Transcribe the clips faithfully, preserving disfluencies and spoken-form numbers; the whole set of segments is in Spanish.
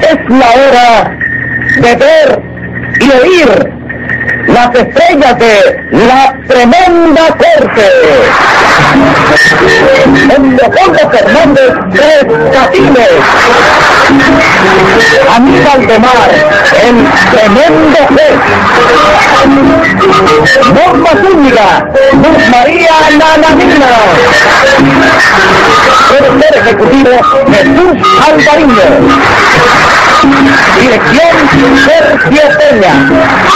es la hora de ver y oír las estrellas de la tremenda corte. Con Leopoldo Fernández Tres Catines, Aníbal de Mar, el tremendo juez, Norma Zúñiga, Luz María Nananina, productor ejecutivo Jesús Alvariño, dirección Sergio Peña.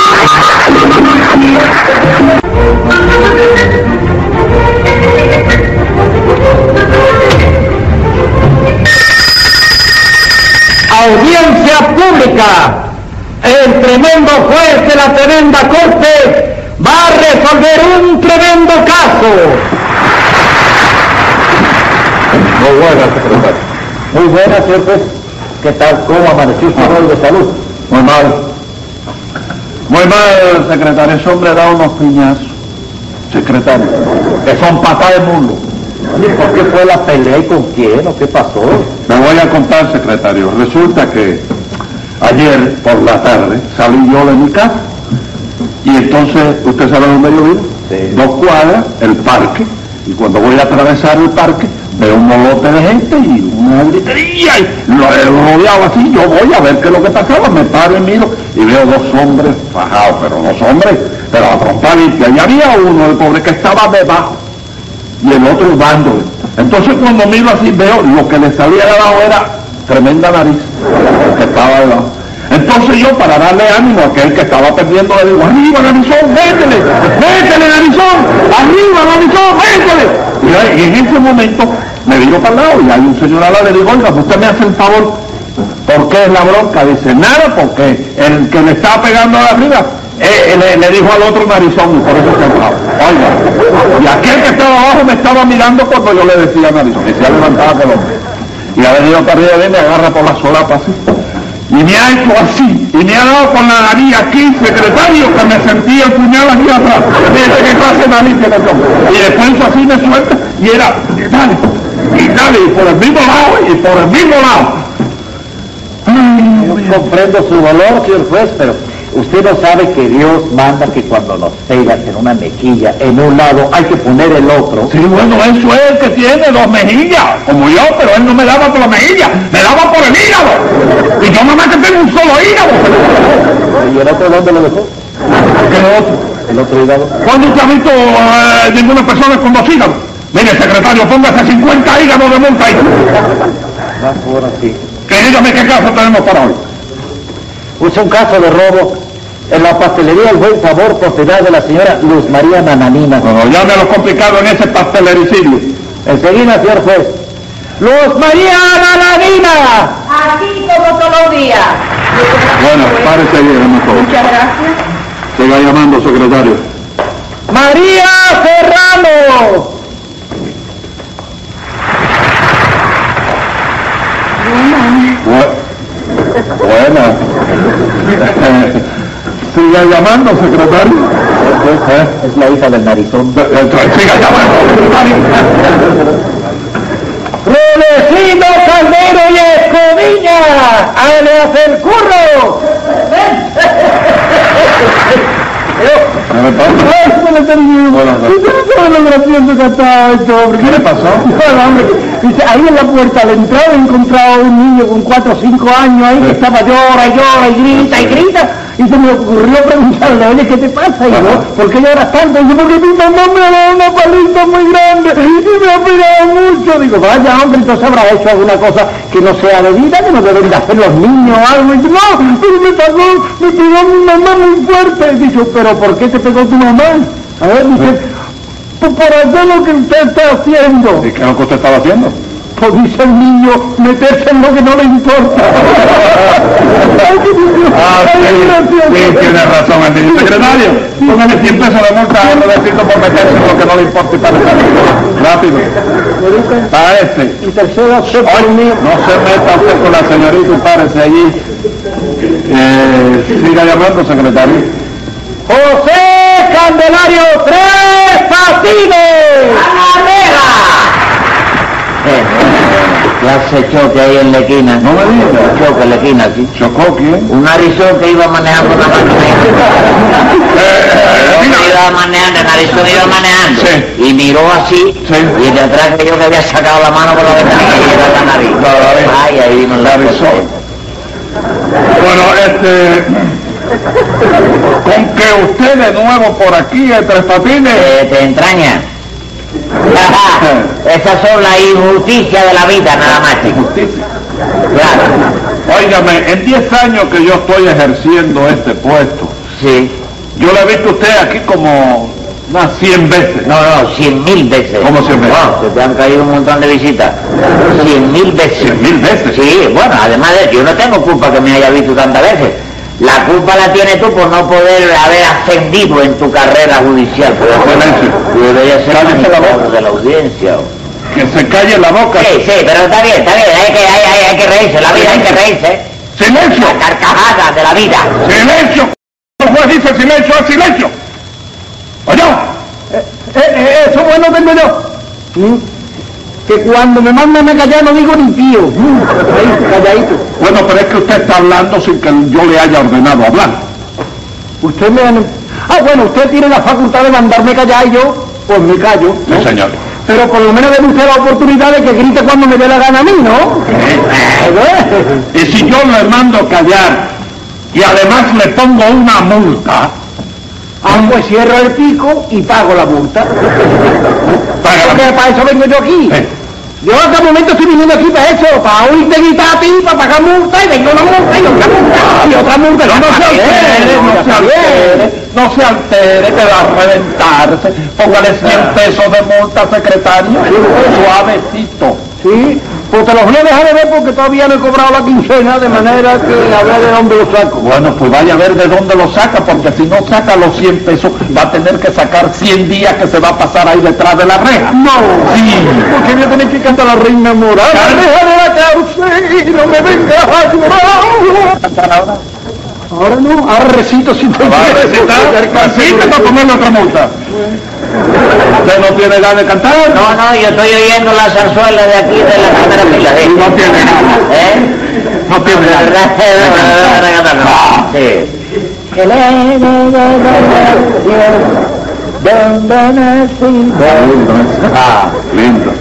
Audiencia pública. El tremendo juez de la tremenda corte va a resolver un tremendo caso. Muy buena, secretario. Muy buena, señor juez. ¿Qué tal? ¿Cómo amaneció usted hoy de salud? Muy mal. Muy mal, secretario. Ese hombre da unos piñazos. Secretario, que son patas de mulo. ¿Y por qué fue la pelea y con quién o qué pasó? Me voy a contar, secretario. Resulta que ayer por la tarde salí yo de mi casa y entonces, ¿usted sabe dónde yo vivo? Sí. Dos cuadras, el parque, y cuando voy a atravesar el parque veo un molote de gente y una gritería y lo he rodeado así. Yo voy a ver qué es lo que pasaba, me paro y miro y veo dos hombres fajados, pero dos hombres, pero a trompa limpia, y había uno, el pobre, que estaba debajo y el otro dándole. Entonces cuando miro así veo lo que le salía de abajo era tremenda nariz, que estaba debajo. Entonces yo, para darle ánimo a aquel que estaba perdiendo, le digo: arriba, narizón, métele, métele, narizón, arriba, narizón, métele. Y, y en ese momento me viro para el lado y hay un señor al lado, le digo: oiga, usted me hace el favor. ¿Por qué es la bronca? Dice: nada, porque el que le estaba pegando de arriba eh, le, le dijo al otro narizón y por eso se enojaba. Oiga, y aquel que estaba abajo me estaba mirando cuando yo le decía narizón y se ha levantado aquel hombre. Y ha venido para arriba de mí, me agarra por la solapa así. Y me ha hecho así, y me ha dado con la nariz aquí, secretario, que me sentía el puñal aquí atrás. Dice: ¿qué clase de nariz que le tomo? Y después hizo así, me suelta, y era, y dale, y dale, y por el mismo lado, y por el mismo lado. Ay, yo comprendo su dolor, señor juez, pero usted no sabe que Dios manda que cuando nos pegas en una mejilla, en un lado, hay que poner el otro. Sí, bueno, eso es el que tiene dos mejillas, como yo, pero él no me daba por la mejilla, me daba por el hígado. Y yo nomás que tengo un solo hígado. ¿Y el otro dónde lo dejó? ¿Qué otro? El otro hígado. ¿Cuándo usted ha visto eh, ninguna persona con dos hígados? Mire, secretario, póngase cincuenta hígados de monta ahí. Va por así. Que dígame qué caso tenemos para hoy. Es un caso de robo en la pastelería El Buen Sabor, propiedad de la señora Luz María Nananina. No, ya me lo complicado en ese pastelericidio. Enseguida, señor juez. ¡Luz María Nananina! Aquí como todos los días. Bueno, párese ahí, hermano. Muchas gracias. Siga llamando, secretario. ¡María Serrano! Bu- Buena. Siga llamando, secretario. ¿Eh? Es la hija del narizón. Siga llamando, secretario. ¡Rudecindo Caldero y Escoviña! ¡Alias el curro! ¿Qué le pasó? Bueno, hombre, dice, ahí en la puerta de entrada he encontrado un niño con cuatro o cinco años ahí que estaba llora y llora y grita y grita, y se me ocurrió preguntarle: oye, ¿qué te pasa, hijo? ¿Por qué lloras tanto? Y dice: porque mi mamá me ha dado una paliza muy grande y me ha pegado mucho. Digo: vaya, hombre, entonces habrá hecho alguna cosa que no sea debida, que no deben de hacer los niños o algo. Y dice: no, pero me pegó, me pegó mi mamá muy fuerte. Y dice: pero ¿por qué te pegó tu mamá? A ver, dice: pues por hacer lo que usted está haciendo. ¿Y qué es lo que usted estaba haciendo? Pues dice el niño, meterse en lo que no le importa. Ah, sí, sí, tiene razón el niño. Secretario, póngale cien pesos de multa a Rodecito por meterse en lo que no le importa y para rápido. Para este. Y tercero, se Hoy mío. no se meta usted con la señorita y párese allí. Eh, siga llamando, secretario. José Candelario Tres Patines. ¡A la vela! Eh, Clase choque ahí en la esquina. No me digas. Choque en la esquina, sí. ¿Chocó quién? Un narizón que iba manejando una máquina. Eh, Yo iba manejando, el narizón iba manejando. Sí. Y miró así. Sí. Y de atrás que yo que había sacado la mano por la ventana y era la nariz. Claro, Ay, ahí vino la narizón. Bueno, este... con que usted de nuevo por aquí, en Tres Patines... Eh, ¿Te entraña? Esas son las injusticias de la vida, nada más, chico. Justicia. Claro. Óigame, en diez años que yo estoy ejerciendo este puesto, Sí. yo le he visto a usted aquí como unas cien veces. No, no, cien mil veces. ¿Cómo cien veces? Wow, se te han caído un montón de visitas. Cien mil veces. ¿Cien mil veces? Sí, bueno, además de eso, yo no tengo culpa que me haya visto tantas veces. La culpa la tienes tú por no poder haber ascendido en tu carrera judicial. Silencio. Debería ser Cállese la boca. de la audiencia. Que se calle la boca. Sí, sí, pero está bien, está bien, hay que, hay, hay, hay que reírse, la vida hay que reírse. ¡Silencio! La carcajada de la vida. ¡Silencio! El juez dice silencio, es silencio. ¿Oye? Eh, eh, eso bueno tengo yo. ¿Mm? Que cuando me mandan a callar no digo ni tío. ¿Mm? Ahí, calladito. Bueno, pero es que usted está hablando sin que yo le haya ordenado hablar. Usted me... Ah, bueno, usted tiene la facultad de mandarme callar y yo, pues me callo, ¿no? Sí, señor. Pero por lo menos debe usted la oportunidad de que grite cuando me dé la gana a mí, ¿no? Y si yo le mando callar y además le pongo una multa... Ah, pues cierro el pico y pago la multa. Paga la Porque multa. para eso vengo yo aquí. Eh. Yo a cada momento estoy viniendo aquí para eso, para oírte gritar a ti, para pagar multa, y vengo una multa y otra multa y otra multa. No, no se altere, no se altere, no se altere, que va a reventarse. Póngale cien pesos de multa, secretario, suavecito. Sí, pues te los voy a dejar de ver porque todavía no he cobrado la quincena, de manera que a ver de dónde lo saco. Bueno, pues vaya a ver de dónde lo saca, porque si no saca los cien pesos, va a tener que sacar cien días que se va a pasar ahí detrás de la reja. No, Sí. porque voy a tener que cantar la reina moral. Car- Reja de la cárcel y no me vengas a llorar. ¿Cantar ahora? Ahora no, ahora recito si te ¿Va a quieres, recitar? porque hay Sí, te va a poner otra multa. ¿Usted no tiene ganas de cantar? No, no, yo estoy oyendo la zarzuela de aquí de la primera fila. ¿Sí? No tiene ganas. ¿Eh? No tiene De ganas. verdad, no. Sí. Ah, lindo.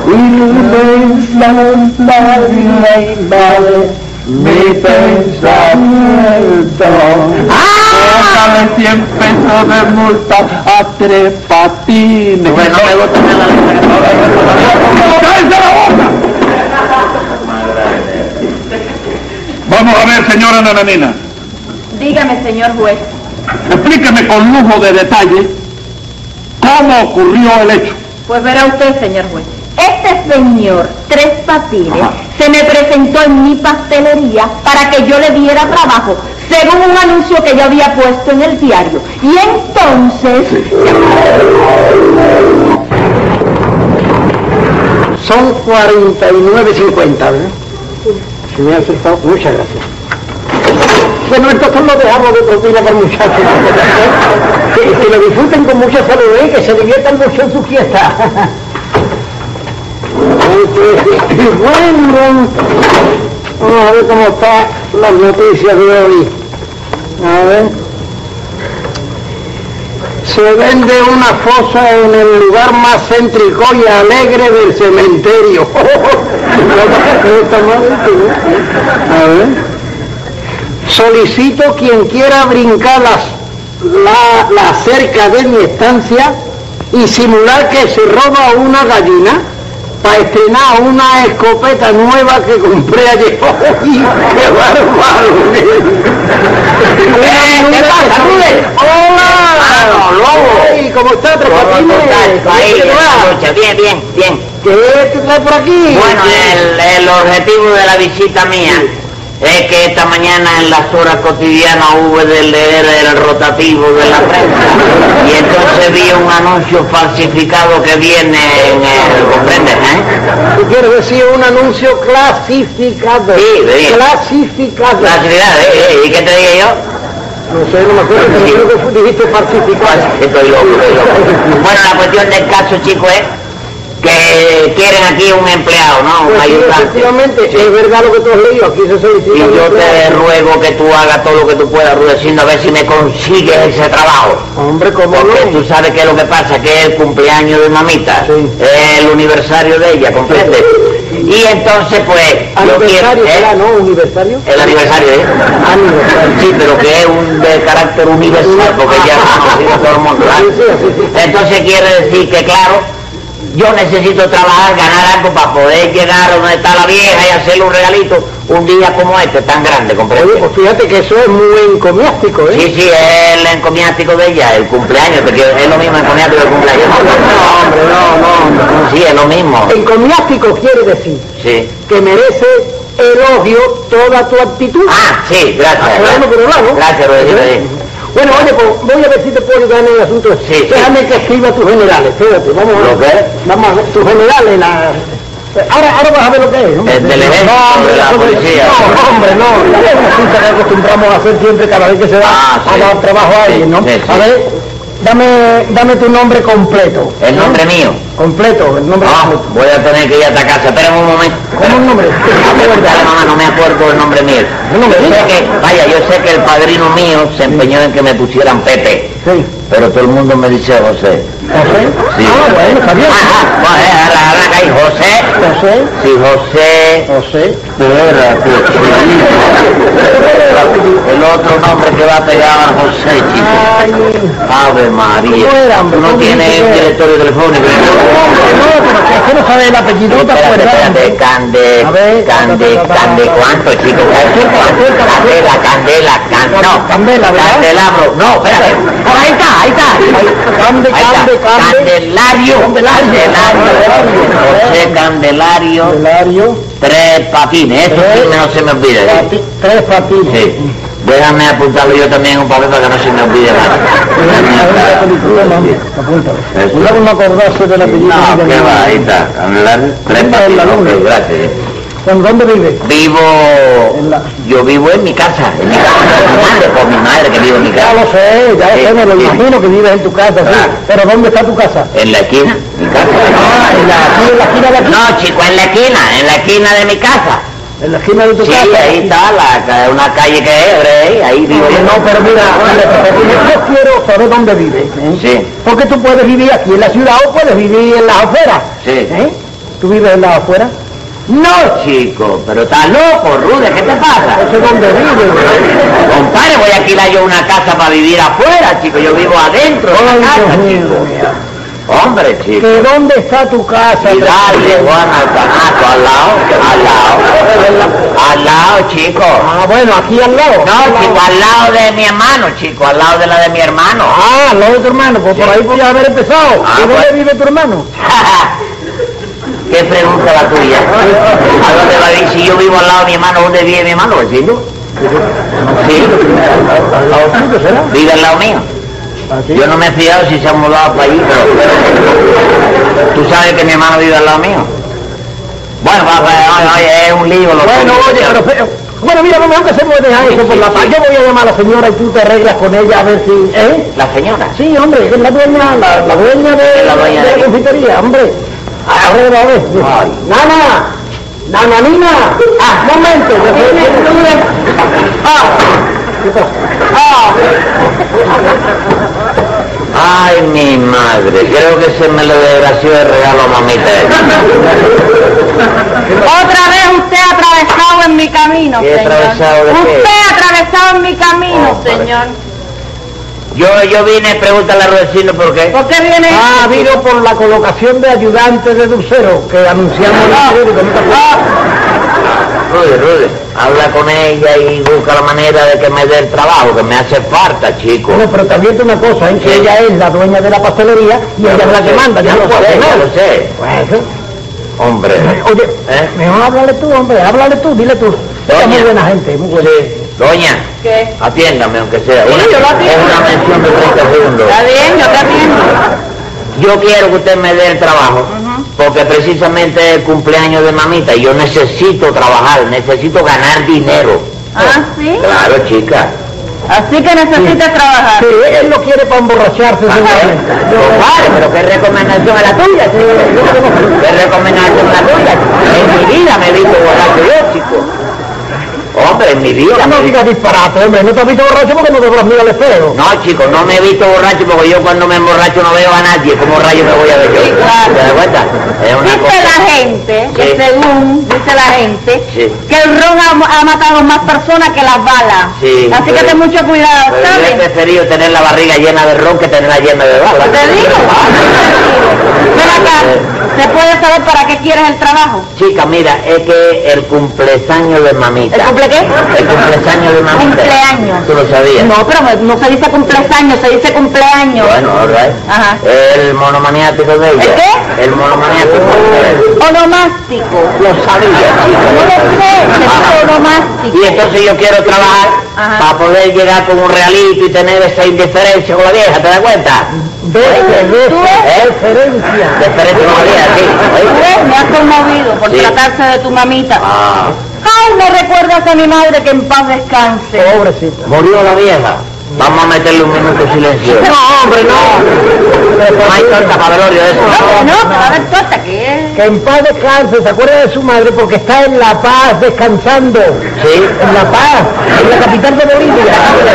Mi pensamiento. Póngale cien pesos de multa a Tres Patines. Bueno, me gusta la ¡Cállese la boca! Vamos a ver, señora Nananina. Dígame, señor juez. Explíqueme con lujo de detalle cómo ocurrió el hecho. Pues verá usted, señor juez. Este señor, Tres Patines, Ajá. se me presentó en mi pastelería para que yo le diera trabajo, según un anuncio que yo había puesto en el diario. Y entonces... Son cuarenta y nueve cincuenta, ¿verdad? Se me ha acertado. Muchas gracias. Bueno, entonces lo dejamos de propina para el muchacho. Que, que lo disfruten con mucha salud, ¿eh? Que se diviertan mucho en su fiesta. Bueno, vamos a ver cómo están las noticias de hoy. A ver. Se vende una fosa en el lugar más céntrico y alegre del cementerio. A ver. Solicito quien quiera brincar las, la, la cerca de mi estancia y simular que se roba una gallina para estrenar una escopeta nueva que compré ayer. ¡Ay, qué bárbaro! Eh, ¿qué pasa, Rubén? ¡Hola! ¡Vamos, lobo! Ay, ¿cómo está, Tres ¿Cómo Patines? estás? Ahí, ¿Qué te va? escucha, bien, bien, bien. ¿Qué te trae por aquí? Bueno, el, el objetivo de la visita mía es que esta mañana en las horas cotidianas hubo de leer el rotativo de la prensa y entonces vi un anuncio falsificado que viene en el, ¿comprendes, eh? ¿Tú quieres decir un anuncio clasificado? Sí, bien. Clasificado. La actividad, ¿eh? ¿Y qué te dije yo? No sé, no me acuerdo, pero Sí. creo que dijiste falsificado. Estoy loco, estoy loco. Bueno, la cuestión del caso, chico, es que quieren aquí un empleado, ¿no? Pues un sí, ayudante. efectivamente, Sí. es verdad lo que tú has leído, aquí se solicita. Y un yo te empleado. ruego que tú hagas todo lo que tú puedas, Rudecindo, a ver si me consigues ese trabajo. Hombre, ¿cómo Porque no? tú sabes que lo que pasa, que es el cumpleaños de mamita, Sí. es el aniversario de ella, ¿comprendes? Y entonces, pues, yo quiero... Aniversario ¿eh? será, ¿no? ¿Universario? El aniversario, ¿eh? Aniversario. Sí, pero que es un de carácter universal, porque ya es conocido todo el mundo, ¿verdad? Sí, sí, sí, sí. Entonces quiere decir que, claro, yo necesito trabajar, ganar algo para poder llegar a donde está la vieja y hacerle un regalito un día como este, tan grande, ¿comprendes? Oye, pues fíjate que eso es muy encomiástico, ¿eh? Sí, sí, es el encomiástico de ella, el cumpleaños, porque es lo mismo encomiástico que el cumpleaños. No, hombre, no, no, hombre, no. Sí, es lo mismo. Encomiástico quiere decir Sí. que merece elogio toda tu actitud. Ah, sí, gracias. Ah, bueno, por un lado. Gracias, Rodrigo. ¿Eh? Bueno, oye, pues voy a ver si te puedo ayudar en el asunto. Sí, sí. Déjame que escriba tus generales, espérate, vamos a ver. ¿Lo qué? Vamos a ver, tus generales, la... Ahora, ahora vas a ver lo que es, ¿no? El del ejército, hombre, de la hombre, policía. No, hombre, no. Es una cita que acostumbramos a hacer siempre cada vez que se va Ah, a sí. dar trabajo a alguien, ¿no? Sí, sí. A ver, dame, dame tu nombre completo. El ¿no? nombre mío. Completo, el nombre Ah, completo. voy a tener que ir a esta casa. Espérame un momento. ¿Cómo el nombre? Dale, mamá, no me acuerdo el nombre mío. No me Yo sé digas. que, vaya, yo sé que el padrino mío se empeñó en que me pusieran Pepe, Sí. pero todo el mundo me dice José. ¿José? Sí. Ah, bueno, está bien. Ajá, bueno, eh, ahora, ahora ahí, José. José. Sí, José. José. Espérate, chiquito. El otro nombre que va a pegar a José, chico. Ay, Ave María. ¿Cómo era, hombre? Tú no ¿Cómo tienes dice el que era? directorio telefónico. hombre, no, pero que es que no sabe el apellido, ¿te Espérate, acuerdas? espérate, Cande, A ver, Cande, ta, ta, ta, ta. Cande, ¿cuánto, chico? Acércate, acércate. Candela, Candela, Can- no, Candela, ¿verdad? Candelabro, no, espérate. Ah, ahí está, ahí está. Cande, Ahí está. Cande, Cande. Candelario, Candelario. Candelario, José Candelario, Candelario. tres patines, eso Tres sí no se me olvide. ¿eh? Pati- Tres patines. Sí. Déjame apuntarlo yo también en un papel para que no se me olvide nada. Eso. Cuidado no acordarse del apellido. No, ni del qué va, nombre. ahí está. Candelario, tres En la patines, luna. ok, gracias. ¿En dónde vive? Vivo, En la- yo vivo en mi casa, en mi casa con mi madre, con mi madre que vive en mi Ya casa. lo sé, ya lo Sí, sé, me lo sí. imagino que vives en tu casa, sí. Claro. Pero ¿dónde está tu casa? En la esquina, mi casa. Ah, en la, aquí en la esquina de aquí. No, chico, en la esquina, en la esquina de mi casa. En la esquina de tu Sí, casa. ahí está, la, ca- una calle que es, ahí, ahí vivo Oye, yo. no, pero mira, yo quiero saber dónde vives. ¿eh? Sí. Porque tú puedes vivir aquí en la ciudad o puedes vivir en las afueras. Sí. ¿Eh? ¿Tú vives en las afueras? No, chico, pero estás loco, Rude, ¿qué te pasa? No sé dónde vives. Compadre, voy a alquilar yo una casa para vivir afuera, chico, yo vivo adentro de Ay, la casa, Dios mío. chico. Hombre, chico. ¿Que dónde está tu casa? Y dale, Juan Altanato, al lado, al lado, al lado, chico. Ah, bueno, aquí al lado. No, chico, al lado de mi hermano, chico, al lado de la de mi hermano. Ah, al lado de tu hermano, pues por ahí podías haber empezado. Ah, ¿Y dónde bueno. vive tu hermano? ¿Qué pregunta la tuya? ¿A dónde va a ir? Si yo vivo al lado de mi hermano, ¿dónde vive mi hermano, vecino? Sí, Al lado tuyo, ¿será? vive al lado mío. Así. Yo no me he fijado si se han mudado para allí, pero tú sabes que mi hermano vive al lado mío. Bueno, va, va, oye, oye, es un lío. Lo Bueno, tuyo, oye, chico. pero feo. Bueno, mira, vamos a hacer dejar eso por la paz. Yo voy a llamar a la señora y tú te arreglas con ella a ver si... ¿Eh? La señora. Sí, hombre, es la dueña, la, la dueña de La dueña de de- la confitería, hombre. Arregla, a ver. Ay. Nana, Nana, Nina. Ah, momento. yo soy- Ah, ¿qué pasa? Ah, Ay, mi madre, creo que se me lo desgració el regalo a mamita. Otra vez usted ha atravesado en mi camino, ¿Qué señor. atravesado de qué? Usted ha atravesado en mi camino, Oh, padre. señor. Yo, yo vine, pregúntale a Rudecindo por qué. ¿Por qué viene? ah, vino por la colocación de ayudante de dulcero que anunciamos en el periódico, ¿no te acuerdas? Rude, Rude, habla con ella y busca la manera de que me dé el trabajo, que me hace falta, chico. Bueno, pero también una cosa, ¿eh? que Sí. ella es la dueña de la pastelería y Ya ella es lo la que sé, manda, ya ya no lo puede sé, hacer ya nada. lo sé. Bueno, Hombre. oye, ¿Eh? mejor háblale tú, hombre, háblale tú, dile tú. Ella es muy buena gente, muy buena. Sí. Doña, ¿Qué? atiéndame aunque sea. Sí, Una- yo lo atiendo. es una mención de treinta segundos. Está bien, yo te atiendo. Yo quiero que usted me dé el trabajo, porque precisamente es el cumpleaños de mamita y yo necesito trabajar, necesito ganar dinero. Ah, ¿sí? Claro, chica. Así que necesitas trabajar. Sí, él lo quiere para emborracharse. seguramente. Vale, pero ¿qué recomendación es la tuya? ¿Qué recomendación es la tuya? En mi vida me he visto borracho yo, chico. Hombre, en mi vida. No digas disparate, hombre, no te has visto borracho porque no te habrás mirado al espejo. No, chicos, no me he visto borracho porque yo cuando me emborracho no veo a nadie. ¿Cómo rayos me voy a ver yo? Sí, claro. ¿Te das cuenta? Es una Dice cosa... la gente, que Sí. según dice la gente, Sí. que el ron ha, ha matado más personas que las balas. Sí, Así que pero- ten mucho cuidado, Pero yo he ¿sabes? preferido tener la barriga llena de ron que tenerla llena de balas. ¿Te digo? Ven acá, ¿se puede saber para qué quieres el trabajo? Chica, mira, es que el cumpleaños de mamita. ¿El cumple qué? El cumpleaños de mamita. Cumpleaños. ¿Tú lo sabías? No, pero no se dice cumpleaños, se dice cumpleaños. Bueno, all right. Ajá. El monomaniático de ella. ¿El qué? El monomaniático. Onomástico. Lo sabía, chica. No lo sé, se dice Ajá. onomástico. Y entonces yo quiero trabajar Ajá. para poder llegar con un realito y tener esa indiferencia con la vieja, ¿te das cuenta? Ve, ve, ¿Tú ves? ¿Eh? Diferencia. Diferencia con la vieja, sí. ¿Tú ¿oíste? ves? Me has conmovido por Sí. tratarse de tu mamita. Ah, Ay, me recuerdas a mi madre, que en paz descanse. Pobrecita. murió la vieja. Vamos a meterle un minuto de silencio. No, hombre, no. No hay torta para velorio de eso. No, no, pero a ver, torta, ¿qué? Que en paz descanse, se acuerda de su madre porque está en La Paz descansando. Sí. En La Paz, en la capital de Bolivia.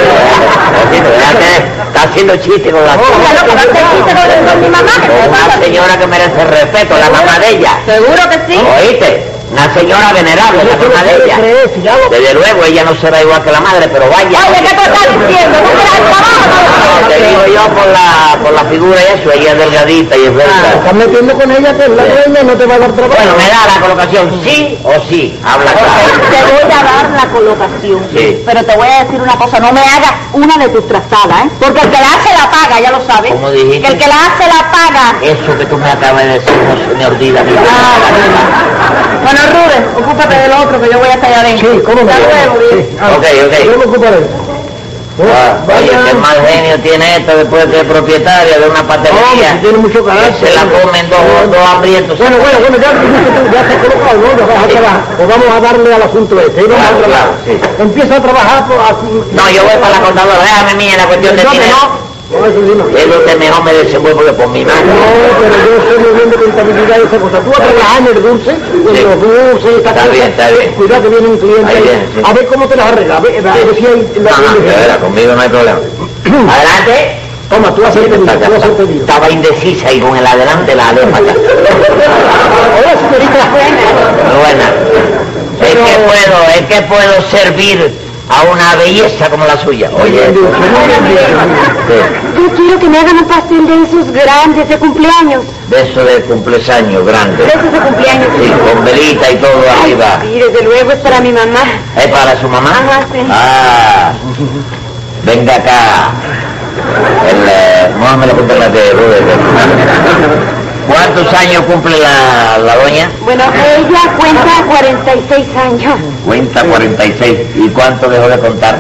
Está haciendo chiste con la Ya lo que va a hacer chiste con- con mi mamá, ¿qué te Una pasa? señora que merece respeto, la mamá de ella. Seguro que sí. ¿Oíste? Una señora venerable, la Eso no mamá de puede ella. creer, si ya lo- Desde luego, ella no será igual que la madre, pero vaya. Oye, ¿qué tú estás diciendo? ¿No quieres el trabajo? Te digo yo por la, por la figura y eso, ella es delgadita y es Ah, verdad. estás metiendo con ella que es la dueña y no te va a dar trabajo. Bueno, me da la colocación, sí o sí. Habla claro. Te voy a dar la colocación. Sí. Pero te voy a decir una cosa, no me hagas una de tus trazadas, ¿eh? Porque el que la hace la paga, ya lo sabes. ¿Cómo dijiste? Que el que la hace la paga. Eso que tú me acabas de decir no se me olvida. ni nada. Ah, bueno, Rubén, ocúpate del otro que yo voy hasta allá adentro. Sí, ¿cómo no? Hasta luego, bien. Sí, ah, Ok, ok. Yo me ocupo de eso. Ah, oye, Vaya. qué mal genio tiene esto después que es propietaria de una Hombre, pastelería. si tiene mucho que carácter. se la comen dos, dos hambrientos. Bueno, bueno, bueno, ya dijiste tú, ya se ha colocado, ¿no? Ya vas a trabajar. Pues vamos a darle al asunto este. Y vamos Claro, a trabajar. claro, sí. Empieza a trabajar por así. No, yo voy para la contadora, déjame mía la cuestión de Yo que dinero. no. No, eso sí no. Es donde mejor me desenvuelvo que por mi mano. No, pero yo estoy muy bien de contabilidad y esa cosa. Tú vas a trabajar en el dulce, en Sí. los dulces, esta Está cosa. bien, está bien. Cuidado que viene un cliente Ahí ahí. viene, sí. A ver cómo te las arreglas. A ver, a ver si hay la Ajá, de veras, conmigo no hay problema. Adelante. Toma, tú haces el pedido, tú haces el pedido. Estaba indecisa y con el adelante la dejo acá. Hola, señorita. Buena. Es que puedo, es que puedo servir a una belleza como la suya. Oye, Muy bien, muy bien, muy bien. sí, Yo quiero que me hagan un pastel de esos grandes de cumpleaños. de eso de cumpleaños grande. De esos de cumpleaños. Sí, con velita y todo arriba. Sí, desde luego es para mi mamá. ¿Es para su mamá? Ajá, sí. Ah, venga acá. El, eh, no me lo cuente la de Rubén. ¿Cuántos años cumple la, la doña? Bueno, ella cuenta cuarenta y seis años. Cuenta cuarenta y seis. ¿Y cuánto dejó de contar?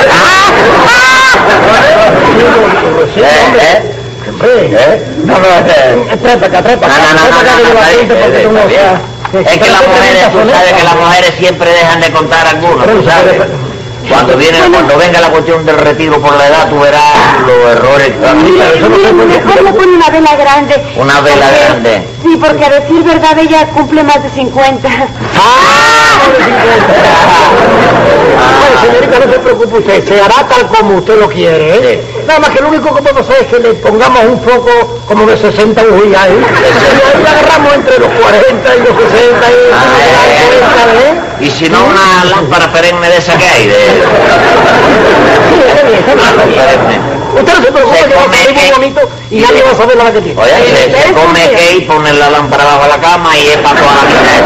¿Eh? ¿Eh? ¿Eh? No, no, eh. Trepa acá, trepa No, acá. no, no, trepa no, acá, no, que yo no, la está siento bien, porque tú no está bien. sabes. Es que las mujeres, tú sabes que las mujeres siempre dejan de contar algunos, tú sabes. Cuando viene, cuando venga la cuestión del retiro por la edad, tú verás los errores. Mejor le pone una vela grande. Una vela Porque- grande. Sí, porque a decir verdad ella cumple más de cincuenta. Bueno, señorita, no se preocupe usted, se hará tal como usted lo quiere, ¿eh? Nada más que lo único que podemos hacer es que le pongamos un foco como de sesenta bujías ahí. Y ahí la agarramos entre los cuarenta y los sesenta y Ah, eh, cuarenta, ¿eh? Y si no, una lámpara perenne de esa que hay, de... Sí, está bien, está bien, está bien. perenne. Usted no se preocupe, Se que va a come salir muy que- bonito y nadie va a saber la que tiene. Oye, se, se ¿Ustedes come confían? que y poner la lámpara bajo la cama y es para toda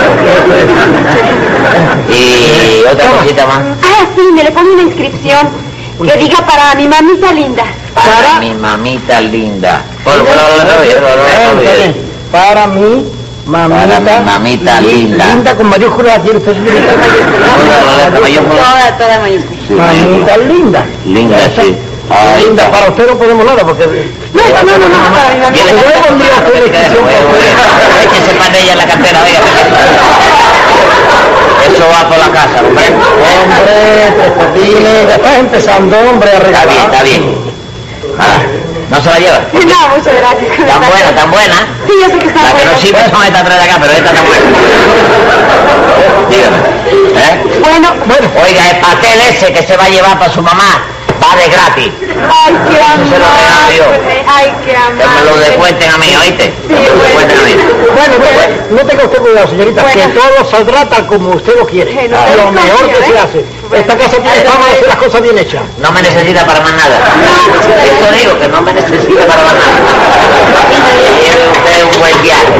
la vida. Y otra cosita más. Ah, sí, me le pone una inscripción que diga para mi mamita linda. Para mi mamita linda. Por- por- por- por- por- Está por- bien. Para mi mamita, Para mi mamita linda. linda con mayúscula, quiere usted señorita. Toda, mayúscula. Toda, toda mayúscula. Sí, Mamita linda. Linda, sí. Ahí Linda, está. para usted no podemos nada porque... No, no, no, no, no, para mi mamita. Viene- Yo pondría usted la inscripción por- Échese para ella en la cartera, oiga. Eso va por la casa, hombre. Hombre, Patines, después empezando, hombre, a Está regalar. bien, está bien. Ah, ¿no se la lleva? No, muchas gracias. Tan buena, tan buena. Sí, yo sé que está La que buena. no sirve son estas tres de acá, pero esta está buena. Dígame. ¿Eh? Bueno, Bueno, Oiga, el pastel ese que se va a llevar para su mamá va de gratis. ay, qué Se lo regalo yo. amable. Ay, qué Que me lo amable. descuenten a mí, ¿oíste? Sí, Que me lo descuenten a mí. bueno, bueno, no tenga usted cuidado, señorita, Bueno. que todo saldrá tal como usted lo quiere. Bueno, lo eso mejor sí, que se ¿eh? hace. Esta casa tiene fama de hacer las cosas bien hechas. No me necesita para más nada. Eso digo, que no me necesita para más nada. Tiene usted un buen viaje.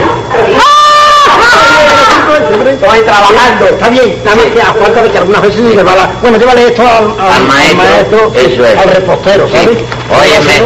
Estoy trabajando. Está bien, está bien, ya, falta que algunas veces se le va la... Bueno, llévale esto al, al, Al maestro, eso es. al repostero, ¿sabes? Óyeme.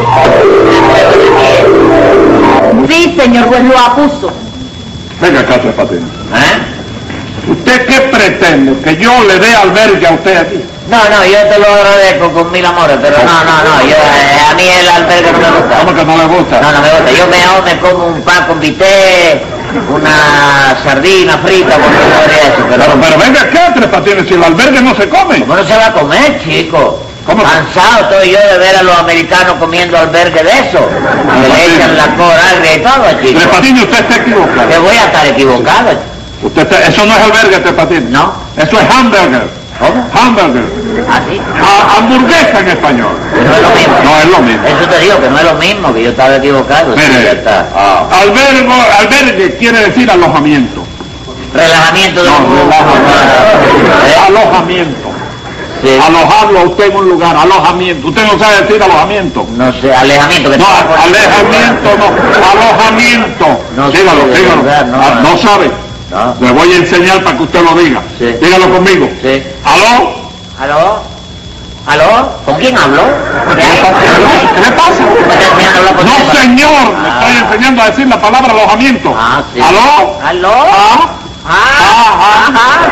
Sí, señor juez, lo acuso. Venga acá, Tres Patines. ¿Eh? ¿Usted qué pretende? ¿Que yo le dé albergue a usted aquí? No, no, yo te lo agradezco con mil amores, pero no, no, no, yo, eh, a mí el albergue no me gusta. ¿Cómo que no le gusta? No, no me gusta. Yo mejor me como un pan con bistec, una sardina frita, con todo eso, pero... Pero, pero venga acá, Tres Patines, si el albergue no se come. ¿Cómo no se va a comer, chico? ¿Cómo? Cansado estoy yo de ver a los americanos comiendo albergue de eso. Que le echan la cora agria y todo, Tres chico. Patines, usted está Que equivocado. voy a estar equivocado. Usted está- eso no es albergue, Tres Patines. ¿No? Eso es hamburger. ¿Cómo? Hamburger. ¿Así? A- hamburguesa en español. No es lo mismo. No es lo mismo. Eso te digo, que no es lo mismo, que yo estaba equivocado. Sí, ya Mire, está. ah, albergo, albergue quiere decir alojamiento. Relajamiento de No, un relajamiento. ¿Eh? Alojamiento. Sí. Alojarlo a usted en un lugar, alojamiento. Usted no sabe decir alojamiento. No sé, alejamiento. Que No, te va a poner- alejamiento no, alojamiento. No sé, dígalo, de dígalo. verdad, no. Ah, no sabe. No. Le voy a enseñar para que usted lo diga. Sí. Dígalo conmigo. Sí. ¿Aló? ¿Aló? ¿Aló? ¿Con quién hablo? ¿Qué le pasa? ¿Qué le pasa? ¿Me estás enseñando a hablar con No, quién? señor, le Ah. estoy enseñando a decir la palabra alojamiento. Ah, sí. ¿Aló? ¿Aló? ¿Ah? Ah, ah, ah,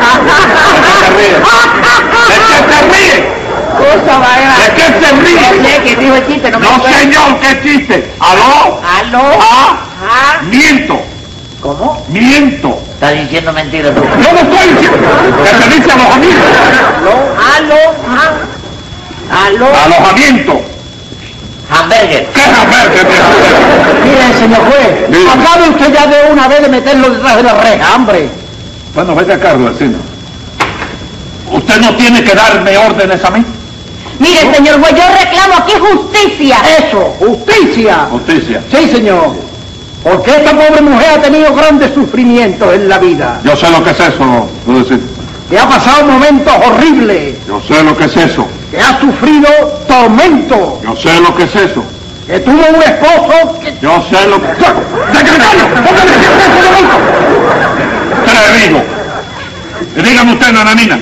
¿De qué se ríe? Cosa ¿De qué se ríe? ¿De qué se No ríe? sé, ¿quién dijo el chiste? No me No, acuerdo. señor, ¿qué chiste? ¿Aló? ¿Aló? ¿Ah? ¿Ah? Miento, ¿Cómo? miento. Estás diciendo mentiras tú. Yo no estoy diciendo que se dice alojamiento. ¿Aló? ¿Ah? ¿Aló? Alojamiento. Hamburger. ¿Qué es albergue? Mire, señor juez, Dígame. acabe usted ya de una vez de meterlo detrás de la reja, hombre. Bueno, vete acá, vecino. ¿Usted no tiene que darme órdenes a mí? Mire, señor juez, yo reclamo aquí justicia. Eso, justicia. Justicia. Sí, señor. Porque esta pobre mujer ha tenido grandes sufrimientos en la vida. Yo sé lo que es eso, Dulce. Que ha pasado momentos horribles. Yo sé lo que es eso. Que ha sufrido tormento. Yo sé lo que es eso. Que tuvo un esposo que... Yo sé lo que... ¡Secretario! ¡Póngale ese momento! Te le digo. Dígame usted, nananina.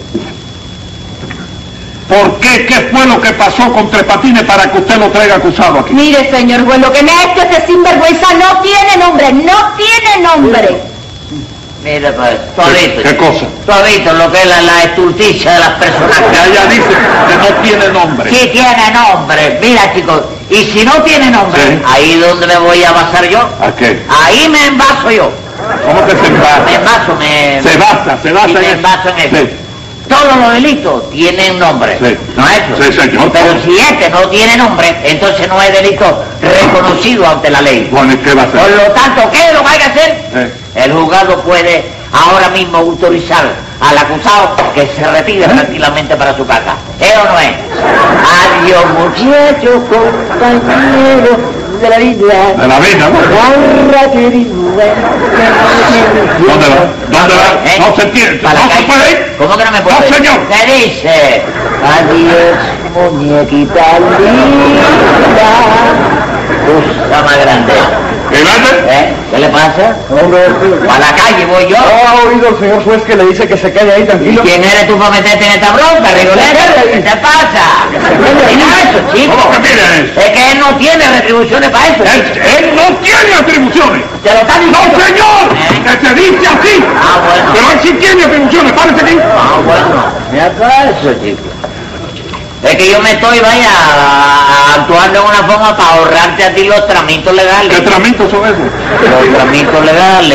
¿Por qué? ¿Qué fue lo que pasó con Tres Patines para que usted lo traiga acusado aquí? Mire, señor juez, lo que me ha hecho ese sinvergüenza no tiene nombre, no tiene nombre. Mira, pues, tú has ¿Qué, visto. qué cosa? Tú has visto lo que es la, la estulticia de las personas. Ya ella dice que no tiene nombre. Sí tiene nombre. Mira, chicos, y si no tiene nombre, Sí. ahí es donde me voy a basar yo. ¿A qué? Ahí me envaso yo. ¿Cómo que se Me envasa? envaso, me... Se basa, se basa y en me eso. envaso en eso. Sí. Todos los delitos tienen nombre. Sí. ¿No es eso? Sí, señor. Pero si este no tiene nombre, entonces no es delito reconocido ante la ley. Bueno, ¿y qué va a Por hacer? lo tanto, ¿qué es lo que hay que hacer? Eh. El juzgado puede ahora mismo autorizar al acusado que se retire tranquilamente para su casa. ¿Es o no es? Adiós, muchachos, compañeros de la vida. De la vida, ¿no? Honra, querido. ¿Dónde va? ¿Dónde va? ¿Eh? No se entiende. Para la ¿No se calle. puede ir? ¿Cómo que no me puedo No, ir? señor. ¿Qué dice? Adiós, muñequita linda. Cosa más grande. ¿Y grande? ¿Eh? ¿Qué le pasa? A la calle voy yo. ¿Ha oído el señor juez que le dice que se quede ahí ¿Y tranquilo? quién eres tú para meterte en esta bronca, Rigolero? ¿Qué te pasa? Mira eso, chico. ¿Cómo que mira eso? Es que él no tiene retribuciones para eso. Él, chico. él no tiene atribuciones. Te lo está ¡No, diciendo. señor! ¿Eh? Que se dice así. Ah, bueno. Pero él sí tiene atribuciones. Párese aquí. Ah, bueno. Mira eso, chico. Es que yo me estoy, vaya, actuando de una forma para ahorrarte a ti los tramitos legales. ¿Qué tramitos son esos? Los tramitos legales.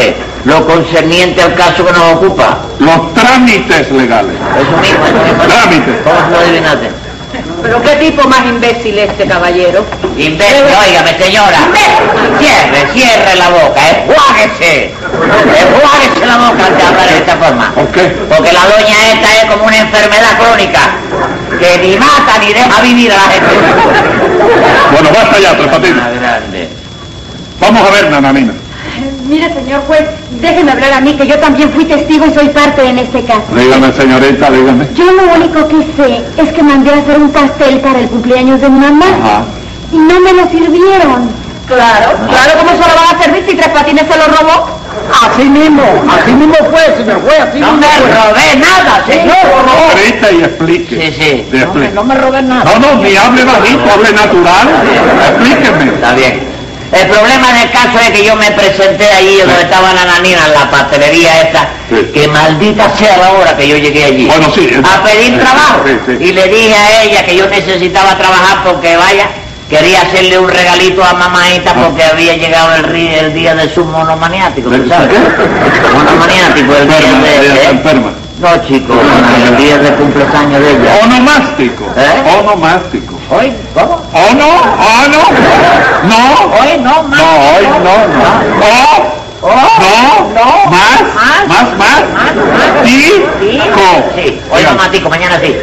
lo concerniente al caso que nos ocupa. Los trámites legales. Eso mismo, eso mismo. Trámites. ¿Cómo se lo adivinaste? ¿Pero qué tipo más imbécil este caballero? Imbécil, óigame, señora. Cierre, cierre la boca, enjuáguese. Enjuáguese la boca antes de hablar de esta forma. ¿Por qué? Porque la doña esta es como una enfermedad crónica que ni mata ni deja vivir a la gente. Bueno, basta ya, Tres Patines. Una grande. Vamos a ver, Nananina. Mire, señor juez, déjeme hablar a mí, que yo también fui testigo y soy parte en este caso. Dígame, señorita, dígame. Yo lo único que sé es que mandé a hacer un pastel para el cumpleaños de mi mamá. Ajá. Y no me lo sirvieron. Claro, claro, ¿cómo se lo van a servir si Tres Patines se lo robó? Así mismo, así mismo fue, señor juez, así No mismo me fue. robé nada, señor. Grita y explique. Sí, sí. Sí, explique. No me robé nada. No, no, ni hable bajito, hable natural. Explíqueme. Está bien. El problema del caso es que yo me presenté allí donde estaba Nananina, en la pastelería esta, Sí. que maldita sea la hora que yo llegué allí. Bueno, sí. A pedir Sí, trabajo. sí, sí. Y le dije a ella que yo necesitaba trabajar porque, vaya, quería hacerle un regalito a mamaita porque había llegado el, ri- el día de su monomaniático, ¿tú ¿De sabes? qué? Monomaniático, el día Enferma, de... ella está ¿eh? enferma. No, chico, el día de cumpleaños de ella. Onomástico. ¿Eh? Onomástico. ¿Hoy? ¿Cómo? ¿O no? ¿O no? No. Hoy no, más. No, hoy no, no. ¿O? Oh, No. no. Más. Más. Más, más. Más, más. Tico. Sí, hoy no matico, mañana sí.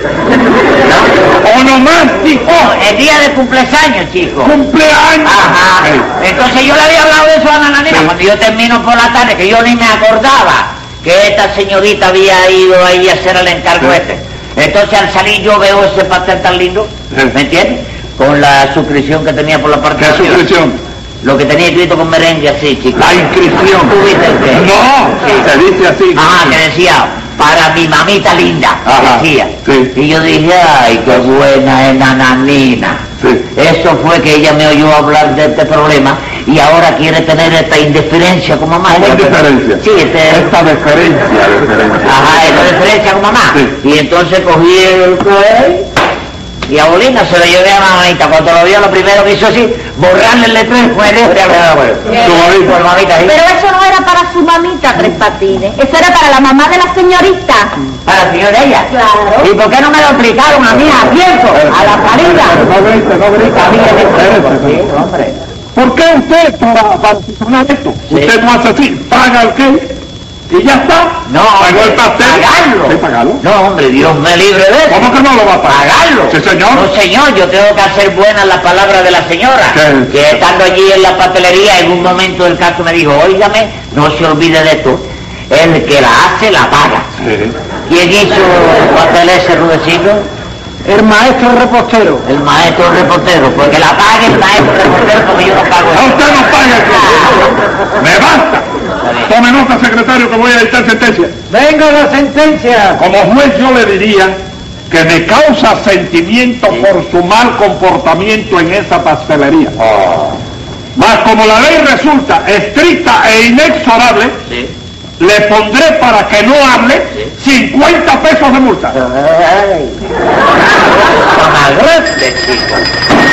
Onomástico. El día de cumpleaños, chico. Cumpleaños. Ajá. Sí. Entonces yo le había hablado de eso a Nananina Sí. cuando yo termino por la tarde, que yo ni me acordaba que esta señorita había ido ahí a hacer el encargo Sí. este. Entonces al salir yo veo ese pastel tan lindo, Sí. ¿me entiendes? Con la suscripción que tenía por la parte ¿Qué de arriba. suscripción? Lo que tenía escrito con merengue así, chico. La inscripción. ¿Tú viste el qué? No, Sí. se dice así. Ah, que decía, para mi mamita linda, Ajá, decía. sí. Y yo dije, ay, qué buena es Nananina. Sí. Eso fue que ella me oyó hablar de este problema y ahora quiere tener esta indiferencia con mamá. ¿Cómo Yo- indiferencia? Sí, este... Esta deferencia, deferencia. Ajá, esta diferencia con mamá. Sí. Y entonces cogí el coel y a Bolina se lo llevé a mamita. Cuando lo vio, lo primero que hizo así, borrarle el letrero con el dedo y hablar, Su mamita. por mamita, ¿sí? Pero eso no era para su mamita, Tres Patines. Eso era para la mamá de la señorita. Para la señora ella. Claro. ¿Y por qué no me lo explicaron a mí a tiempo? A la salida. No grite, no grite. A mí, a mí, Espérese. sí, hombre. ¿Por qué usted, para, para solucionar esto, Sí. usted no hace así? Paga el qué y ya está. No, Pagó hombre, el pastel. pagarlo. Sí, pagarlo. No, hombre, Dios me libre de eso. ¿Cómo que no lo va a pagar? Pagarlo. Sí, señor. No, señor, yo tengo que hacer buenas las palabras de la señora. ¿Qué? Que estando allí en la pastelería, en un momento del caso me dijo, óigame, no se olvide de esto. El que la hace, la paga. Sí. ¿Quién hizo el pastel ese, Rudecindo? El maestro repostero. El maestro reportero. Porque la pague el maestro reportero porque yo no pago A eso. usted no paga el que. ¡Me basta! Tome nota, secretario, que voy a dictar sentencia. Venga la sentencia. Como juez yo le diría que me causa sentimiento por su mal comportamiento en esa pastelería. Oh, Mas como la ley resulta estricta e inexorable, sí. le pondré para que no hable cincuenta pesos de multa. Ay, son agrestes, chicos.